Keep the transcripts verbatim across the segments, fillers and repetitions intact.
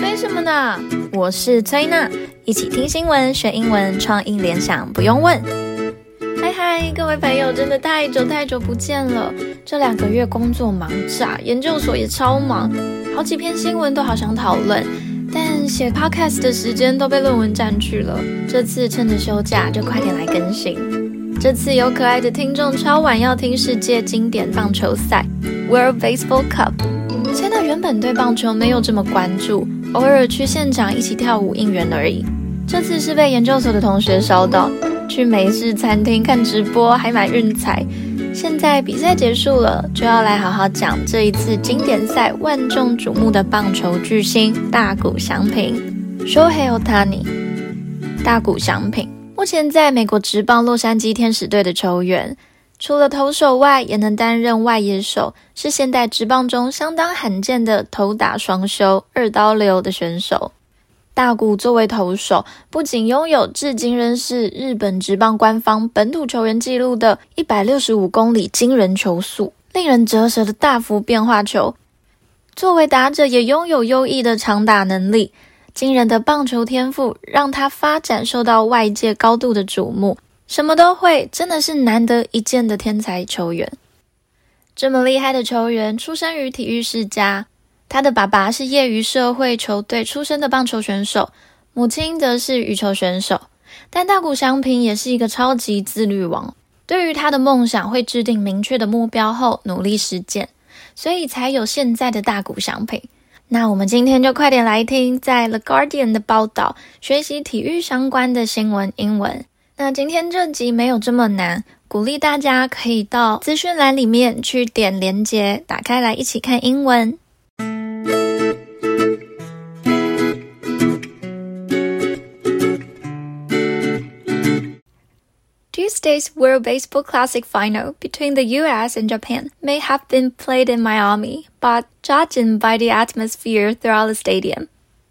催什麼呢？我是崔娜，一起聽新聞學英文，創意聯想不用問。嗨嗨，各位朋友，真的太久太久不見了。這兩個月工作忙炸，研究所也超忙，好幾篇新聞都好想討論，但寫 podcast 的時間都被論文佔據了。這次趁着休假，就快點來更新。這次有可愛的聽眾超晚要聽世界經典棒球賽 World Baseball Cup。現在原本對棒球沒有這麼關注，偶爾去現場一起跳舞應援而已。這次是被研究所的同學燒到，去美式餐廳看直播，還買運彩。現在比賽結束了，就要來好好講這一次經典賽萬眾矚目的棒球巨星大谷翔平 Shohei Ohtani。大谷翔平目前在美國職棒洛杉磯天使隊的球員，除了投手外，也能擔任外野手，是現代職棒中相當罕見的投打雙修二刀流的選手。大谷作為投手，不僅擁有至今仍是日本職棒官方本土球員紀錄的一百六十五公里驚人球速，令人折舌的大幅變化球，作為打者也擁有優異的長打能力，驚人的棒球天賦讓他發展受到外界高度的矚目，什麼都會，真的是難得一見的天才球員。這麼厲害的球員出生於體育世家，他的爸爸是業餘社會球隊出身的棒球選手，母親則是羽球選手。但大谷翔平也是一個超級自律王，對於他的夢想會制定明確的目標後努力實踐，所以才有現在的大谷翔平。那我們今天就快點來聽在 The Guardian 的報道，學習體育相關的新聞英文。那今天這集沒有這麼難，鼓勵大家可以到資訊欄裡面去點連結，打開來一起看英文。Tuesday's World Baseball Classic final between the U S and Japan may have been played in Miami, but judging by the atmosphere throughout the stadium,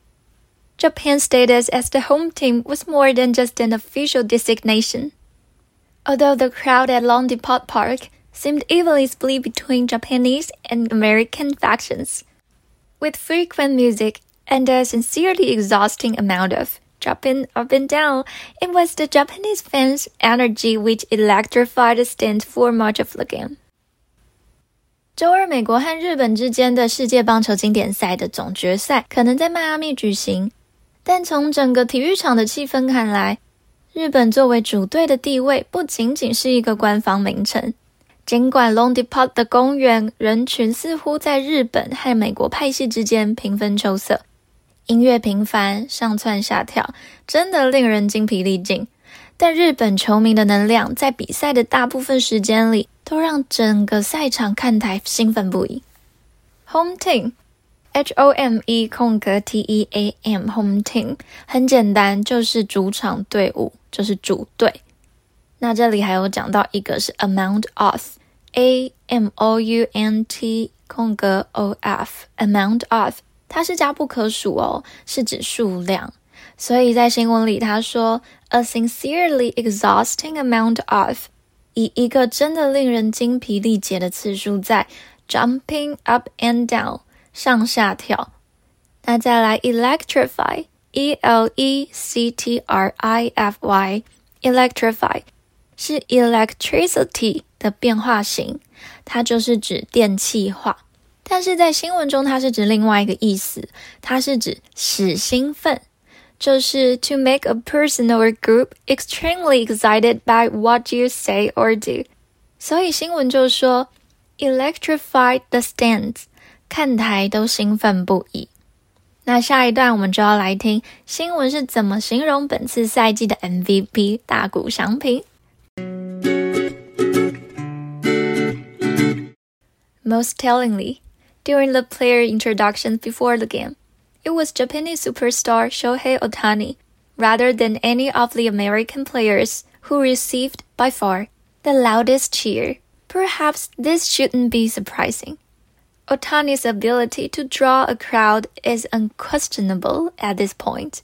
Japan's status as the home team was more than just an official designation. Although the crowd at Long Depot Park seemed evenly split between Japanese and American factions, with frequent music and a sincerely exhausting amount of jumping up and down, it was the Japanese fans' energy which electrified the stands for much of the game. 週二，美國和日本之間的世界棒球經典賽的總決賽可能在邁阿密舉行，但從整個體育場的氣氛看來，日本作為主隊的地位不僅僅是一個官方名稱。儘管 Long Depot 的公園人群似乎在日本和美國派系之間平分秋色，音樂頻繁，上竄下跳，真的令人精疲力盡。但日本球迷的能量在比賽的大部分時間裡，都讓整個賽場看台興奮不已。Home team H O M E 空格 T E A M Home team 很簡單，就是主場隊伍，就是主隊。那這裡還有講到一個是 amount of A M O U N T 空格 O F amount of，它是加不可數哦，是指數量。所以在新聞裡他說 a sincerely exhausting amount of， 以一個真的令人精疲力竭的次數在 jumping up and down 上下跳。那再來 electrify E L E C T R I F Y electrify 是 electricity 的變化型，它就是指電氣化。但是在新聞中它是指另外一個意思，它是指使興奮，就是 to make a person or a group extremely excited by what you say or do。 所以新聞就說 electrified the stands， 看台都興奮不已。那下一段我們就要來聽新聞是怎麼形容本次賽季的 M V P 大谷翔平。Most tellingly, during the player introductions before the game, it was Japanese superstar Shohei Ohtani, rather than any of the American players, who received, by far, the loudest cheer. Perhaps this shouldn't be surprising. Ohtani's ability to draw a crowd is unquestionable at this point.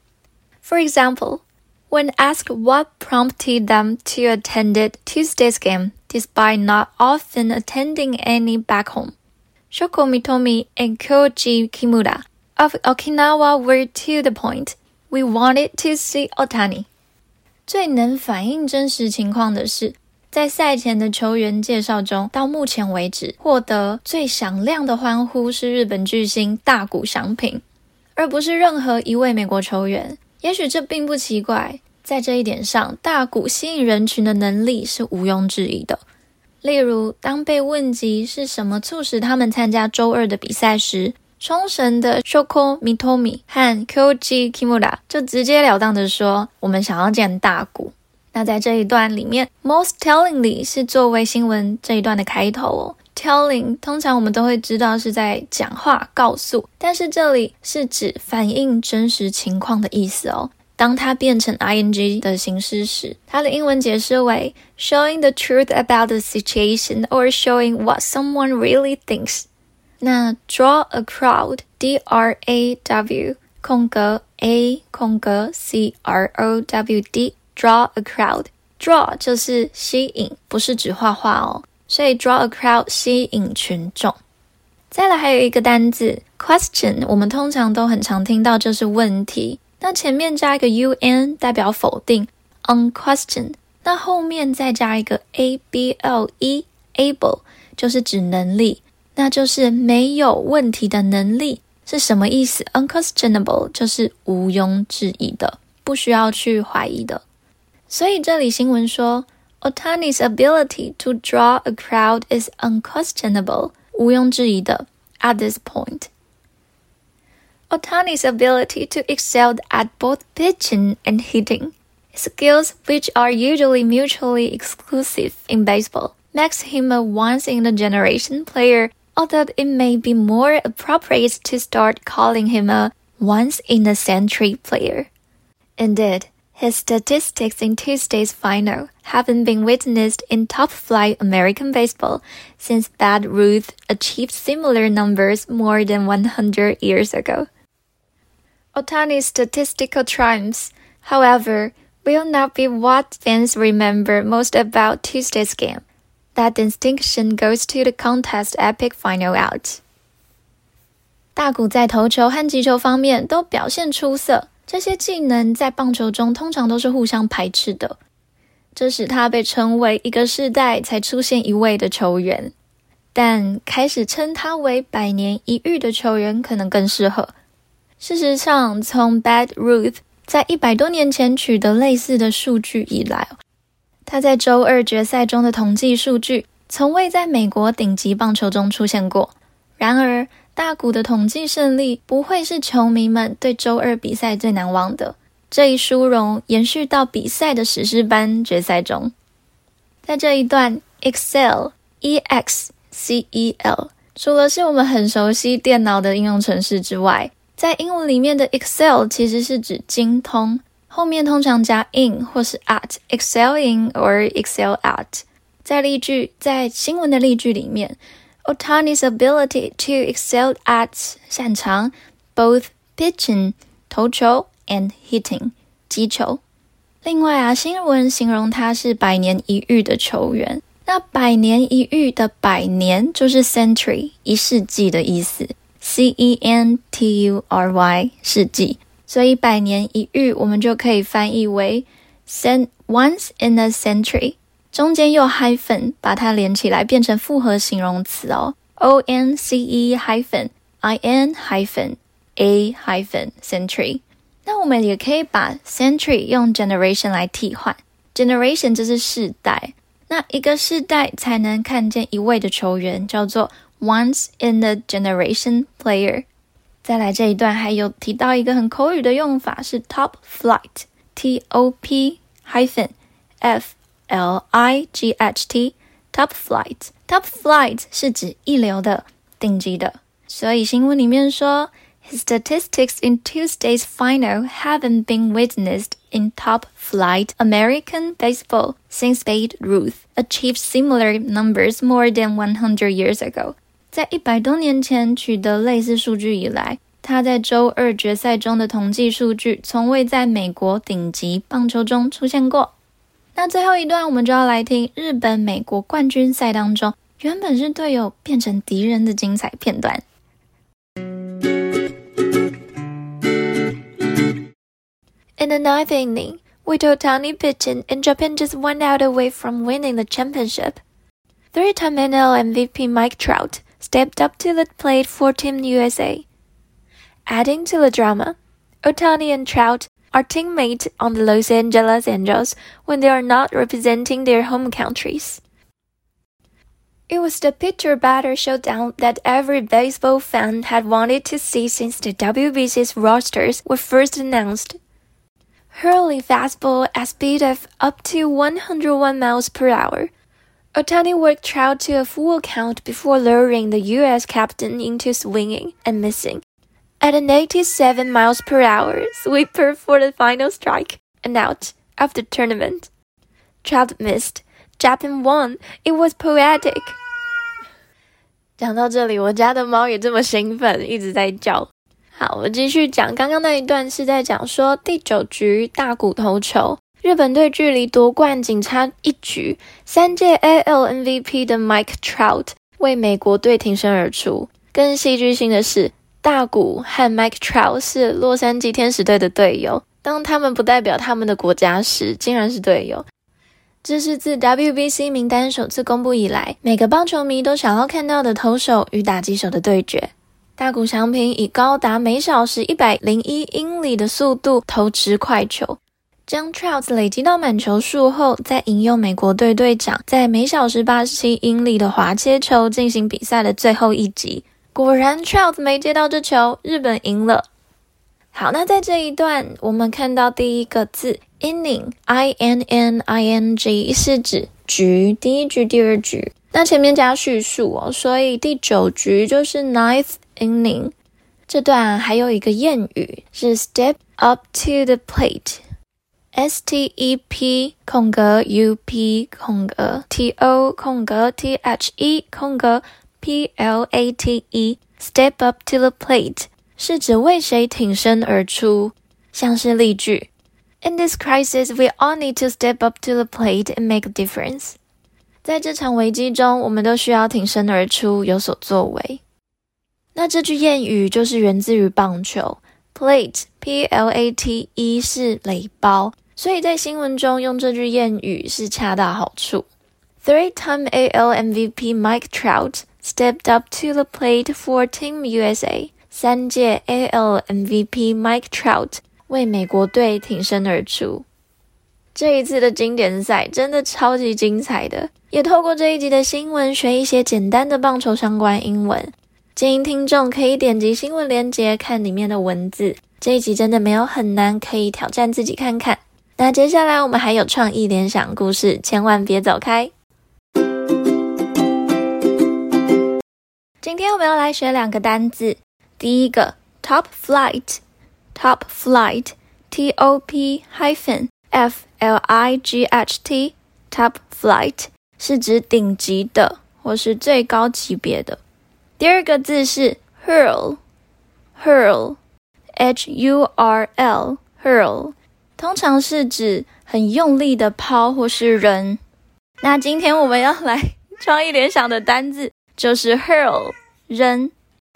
For example, when asked what prompted them to attend Tuesday's game, despite not often attending any back home, Shoko Mitomi and Kyoji Kimura of Okinawa were to the point. We wanted to see Ohtani. 最能反映真實情況的是，在賽前的球員介紹中，到目前為止獲得最響亮的歡呼是日本巨星大谷翔平，而不是任何一位美國球員。也許這並不奇怪，在這一點上，大谷吸引人群的能力是毋庸置疑的。例如，當被問及是什麼促使他們參加周二的比賽時，沖繩的 Shoko Mitomi 和 Kyoji Kimura 就直截了當的說，我們想要見大谷。那在這一段裡面 most tellingly 是作為新聞這一段的開頭哦。telling 通常我們都會知道是在講話告訴，但是這裡是指反映真實情況的意思哦。當它變成 ing 的形式時，它的英文解釋為 showing the truth about the situation or showing what someone really thinks。那 draw a crowd D R A W 空格 A 空格 C R O W D draw a crowd draw 就是吸引，不是指畫畫哦，所以 draw a crowd 吸引群眾。再來還有一個單字 question， 我們通常都很常聽到就是問題，那前面加一個 un 代表否定 unquestioned， 那後面再加一個 A B L E able 就是指能力，那就是沒有問題的能力是什麼意思？ Unquestionable 就是毋庸置疑的，不需要去懷疑的。所以這裡新聞說 Ohtani's ability to draw a crowd is unquestionable 毋庸置疑的 at this point. Ohtani's ability to excel at both pitching and hitting, skills which are usually mutually exclusive in baseball, makes him a once-in-a-generation player, although it may be more appropriate to start calling him a once-in-a-century player. Indeed, his statistics in Tuesday's final haven't been witnessed in top-flight American baseball since Babe Ruth achieved similar numbers more than one hundred years ago. Ohtani's statistical triumphs, however, will not be what fans remember most about Tuesday's game. That distinction goes to the contest's epic final out. 大谷在投球和擊球方面都表現出色，這些技能在棒球中通常都是互相排斥的，這使他被稱為一個世代才出現一位的球員，但開始稱他為百年一遇的球員可能更適合。事實上，從 Babe Ruth 在一百多年前取得類似的數據以來，他在周二決賽中的統計數據從未在美國頂級棒球中出現過。然而，大谷的統計勝利不會是球迷們對周二比賽最難忘的，這一殊榮延續到比賽的史詩般決賽中。在這一段 Excel E X C E L 除了是我們很熟悉電腦的應用程式之外，在英文裡面的 Excel 其實是指精通，後面通常加 in 或是 at excel in or excel at。在例句，在新聞的例句裡面 Ohtani's ability to excel at 擅長 both pitching 投球 and hitting 擊球。另外啊，新聞形容他是百年一遇的球員，那百年一遇的百年就是 century 一世紀的意思， C E N T U R Y 世紀，所以百年一遇我們就可以翻譯為 once in a century， 中間又 hyphen 把它連起來變成複合形容詞哦， O N C E hyphen I N hyphen A hyphen century。 那我們也可以把 century 用 generation 來替換， generation 就是世代，那一個世代才能看見一位的球員叫做 once in a generation player。 再來這一段還有提到一個很口語的用法是 top flight T O P hyphen F L I G H T top flight top flight 是指一流的頂級的，所以新聞裡面說 His statistics in Tuesday's final haven't been witnessed in top-flight American baseball since Babe Ruth achieved similar numbers more than one hundred years ago. 在一百多年前取得類似數據以來，他在周二決賽中的統計數據從未在美國頂級棒球中出現過。那最後一段我們就要來聽日本美國冠軍賽當中原本是隊友變成敵人的精彩片段。 In the ninth inning, with Ohtani pitching and Japan just one out away from winning the championship, three-time N L M V P Mike Trout stepped up to the plate for Team U S A. Adding to the drama, Ohtani and Trout are teammates on the Los Angeles Angels when they are not representing their home countries. It was the pitcher-batter showdown that every baseball fan had wanted to see since the W B C's rosters were first announced. Hurling fastball at speed of up to one hundred one miles per hour, Ohtani worked Trout to a full count before luring the U S captain into swinging and missing at an eighty-seven miles per hour sweeper for the final strike, an out of the tournament. Trout missed. Japan won. It was poetic. 講到這裡，我家的貓也這麼興奮，一直在叫。好，我繼續講。剛剛那一段是在講說第九局大谷投球，日本隊距離奪冠僅差一局，三屆 A L M V P 的 Mike Trout 為美國隊挺身而出。更戲劇性的是，大谷和 Mike Trout 是洛杉磯天使隊的隊友，當他們不代表他們的國家時，竟然是隊友。這是自 W B C 名單首次公布以來，每個棒球迷都想要看到的投手與打擊手的對決。大谷翔平以高達每小時一百零一英里的速度投擲快球，將 Trout 累積到滿球數後，再引誘美國隊隊長在每小時八十七英里的滑切球進行比賽的最後一擊。果然 Trout 沒接到這球，日本贏了。好，那在這一段我們看到第一個字 inning I N N I N G 是指局，第一局第二局，那前面加敘述哦，所以第九局就是 ninth inning。 這段還有一個諺語是 step up to the plate， S T E P 空格 U P 空格 T O 空格 T H E 空格 P L A T E step up to the plate是指為誰挺身而出，像是例句 In this crisis, we all need to step up to the plate and make a difference. 在這場危機中，我們都需要挺身而出，有所作為。那這句諺語就是源自於棒球 ，plate P L A T E 是壘包，所以在新聞中用這句諺語是恰到好處。Three-time A L M V P Mike Trout stepped up to the plate for Team U S A. 三屆 A L M V P Mike Trout 為美國隊挺身而出。這一次的經典賽真的超級精彩的，也透過這一集的新聞學一些簡單的棒球相關英文。建議聽眾可以點擊新聞連結看裡面的文字，這一集真的沒有很難，可以挑戰自己看看。那接下來我們還有創意聯想故事，千萬別走開。今天我們要來學兩個單字。第一個 top flight top flight T O P hyphen F L I G H T top flight 是指頂級的或是最高級別的。第二個字是 hurl hurl H U R L hurl 通常是指很用力的拋或是扔。那今天我們要來創意聯想的單字就是 hurl 扔。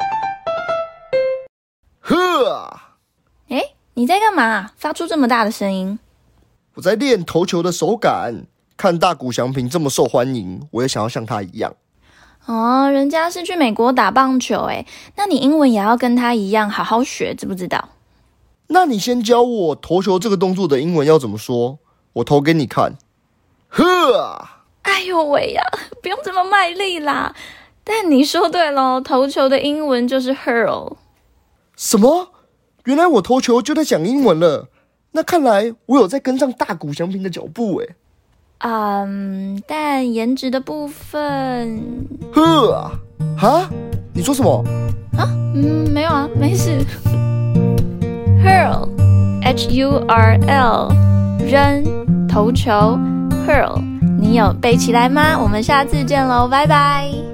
呵！ 誒，你在幹嘛？發出這麼大的聲音？ 我在練投球的手感。看大谷翔平這麼受歡迎，我也想要像他一樣。 哦，人家是去美國打棒球誒，那你英文也要跟他一樣好好學，知不知道？ 那你先教我投球這個動作的英文要怎麼說，我投給你看。呵！ 哎呦喂呀，不用這麼賣力啦。但你說對咯，投球的英文就是 hurl。 什麼？原來我投球就在講英文了。那看來我有在跟上大谷翔平的腳步誒。 嗯，但顏值的部分…… 呵！哈？你說什麼？ 啊？嗯，沒有啊，沒事。hurl H U R L 扔投球 hurl 你有背起來嗎？我們下次見嘍，拜拜。